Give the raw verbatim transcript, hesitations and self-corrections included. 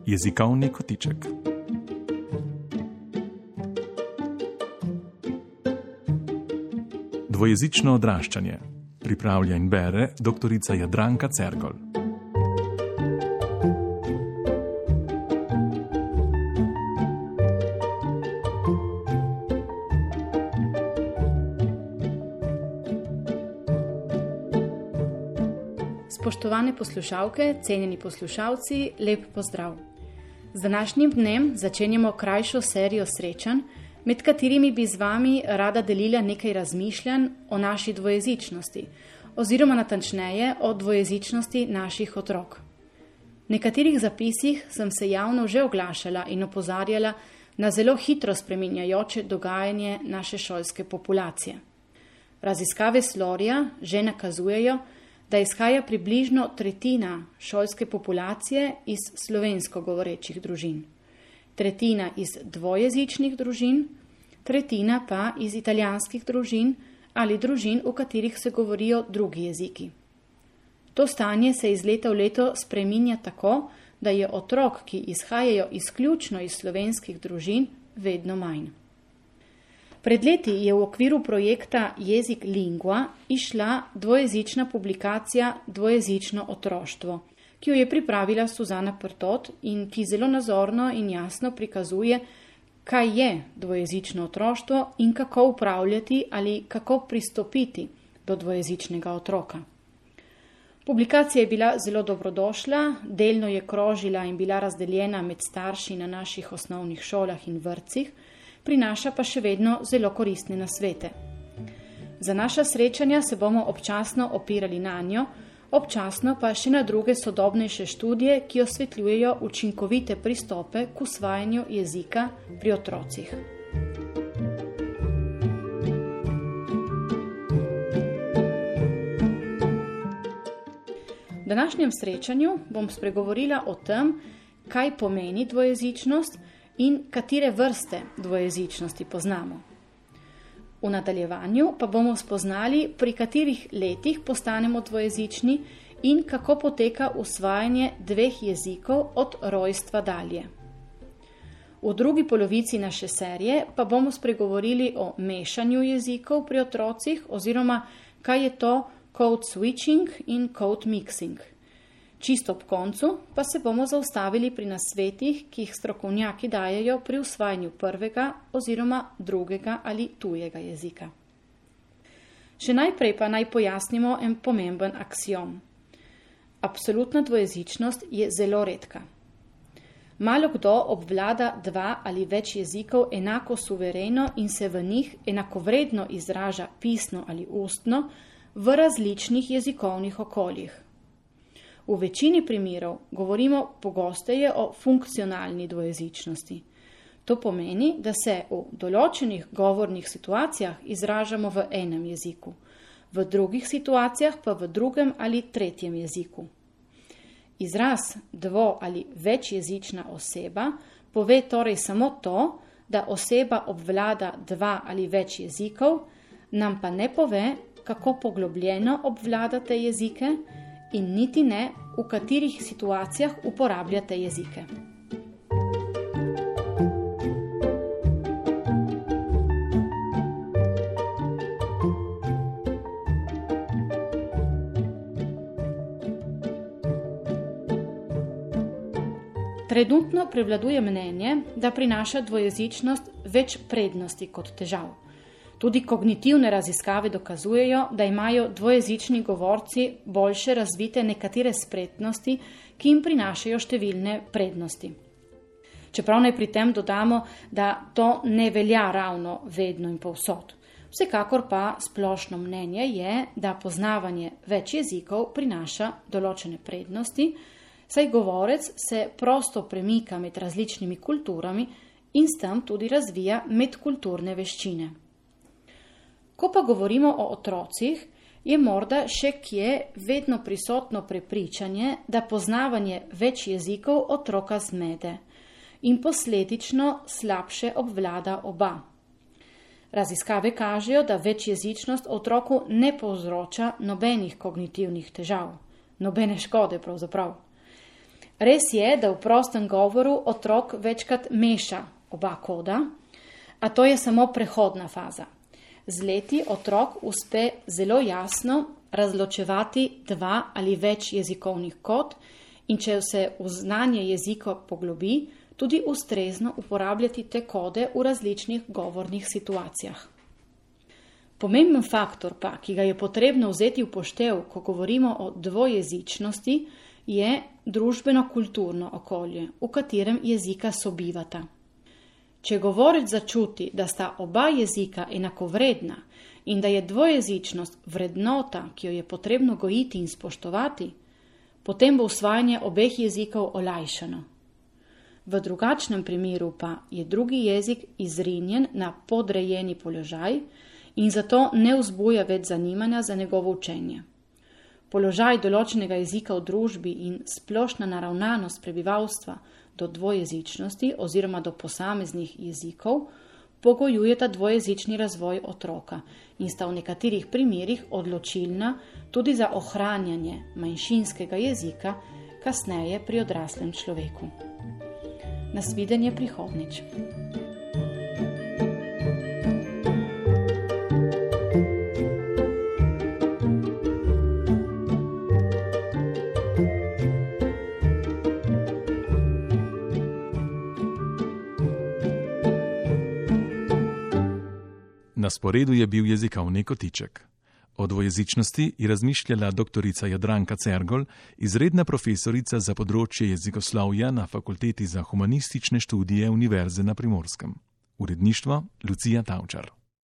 Jezikovni kotiček. Dvojezično odraščanje. Pripravlja in bere doktorica Jadranka Cergol. Spoštovane poslušalke, cenjeni poslušalci, lep pozdrav. Z današnjim dnem začenjamo krajšo serijo srečanj, med katerimi bi z vami rada delila nekaj razmišljanj o naši dvojezičnosti, oziroma natančneje o dvojezičnosti naših otrok. V nekaterih zapisih sem se javno že oglašala in opozarjala na zelo hitro spreminjajoče dogajanje naše šolske populacije. Raziskave Slorja že nakazujejo, da izhaja približno tretjina šolske populacije iz slovensko govorečih družin, tretjina iz dvojezičnih družin, tretjina pa iz italijanskih družin ali družin, v katerih se govorijo drugi jeziki. To stanje se iz leta v leto spreminja tako, da je otrok, ki izhajajo izključno iz slovenskih družin, vedno manj. Pred leti je v okviru projekta Jezik Lingua išla dvojezična publikacija Dvojezično otroštvo, ki jo je pripravila Suzana Prtot in ki zelo nazorno in jasno prikazuje, kaj je dvojezično otroštvo in kako upravljati ali kako pristopiti do dvojezičnega otroka. Publikacija je bila zelo dobrodošla, delno je krožila in bila razdeljena med starši na naših osnovnih šolah in vrtcih, prinaša pa še vedno zelo koristne nasvete. Za naša srečanja se bomo občasno opirali na njo, občasno pa še na druge sodobnejše študije, ki osvetljujejo učinkovite pristope k usvajanju jezika pri otrocih. V današnjem srečanju bom spregovorila o tem, kaj pomeni dvojezičnost in katere vrste dvojezičnosti poznamo. V nadaljevanju pa bomo spoznali, pri katerih letih postanemo dvojezični in kako poteka usvajanje dveh jezikov od rojstva dalje. V drugi polovici naše serije pa bomo spregovorili o mešanju jezikov pri otrocih oziroma kaj je to code switching in code mixing. Čisto ob koncu pa se bomo zaustavili pri nasvetih, ki jih strokovnjaki dajejo pri usvajanju prvega oziroma drugega ali tujega jezika. Še najprej pa naj pojasnimo en pomemben aksiom. Absolutna dvojezičnost je zelo redka. Malo kdo obvlada dva ali več jezikov enako suvereno in se v njih enakovredno izraža pisno ali ustno v različnih jezikovnih okoljih. V večini primerov govorimo pogosteje o funkcionalni dvojezičnosti. To pomeni, da se v določenih govornih situacijah izražamo v enem jeziku, v drugih situacijah pa v drugem ali tretjem jeziku. Izraz dvo- ali večjezična oseba pove torej samo to, da oseba obvlada dva ali več jezikov, nam pa ne pove, kako poglobljeno obvlada te jezike, in niti ne, v katerih situacijah uporabljate jezike. Trenutno prevladuje mnenje, da prinaša dvojezičnost več prednosti kot težav. Tudi kognitivne raziskave dokazujejo, da imajo dvojezični govorci boljše razvite nekatere spretnosti, ki jim prinašajo številne prednosti. Čeprav naj pri tem dodamo, da to ne velja ravno vedno in povsod. Vsekakor pa splošno mnenje je, da poznavanje več jezikov prinaša določene prednosti, saj govorec se prosto premika med različnimi kulturami in s tem tudi razvija medkulturne veščine. Ko pa govorimo o otrocih, je morda še kje vedno prisotno prepričanje, da poznavanje več jezikov otroka zmede in posledično slabše obvlada oba. Raziskave kažejo, da večjezičnost otroku ne povzroča nobenih kognitivnih težav, nobene škode pravzaprav. Res je, da v prostem govoru otrok večkrat meša oba koda, a to je samo prehodna faza. Z leti otrok uspe zelo jasno razločevati dva ali več jezikovnih kod in če se v znanje jezika poglobi, tudi ustrezno uporabljati te kode v različnih govornih situacijah. Pomemben faktor pa, ki ga je potrebno vzeti v poštev, ko govorimo o dvojezičnosti, je družbeno-kulturno okolje, v katerem jezika sobivata. Če govorec začuti, da sta oba jezika enakovredna in da je dvojezičnost vrednota, ki jo je potrebno gojiti in spoštovati, potem bo usvajanje obeh jezikov olajšano. V drugačnem primeru pa je drugi jezik izrinjen na podrejeni položaj in zato ne vzbuja več zanimanja za njegovo učenje. Položaj določenega jezika v družbi in splošna naravnanost prebivalstva do dvojezičnosti oziroma do posameznih jezikov pogojujeta dvojezični razvoj otroka in sta v nekaterih primerih odločilna tudi za ohranjanje manjšinskega jezika kasneje pri odraslem človeku. Nasvidenje prihodnjič. Na sporedu je bil jezikovni kotiček. O dvojezičnosti je razmišljala doktorica Jadranka Cergol, izredna profesorica za področje jezikoslovja na Fakulteti za humanistične študije Univerze na Primorskem. Uredništvo Lucija Tavčar.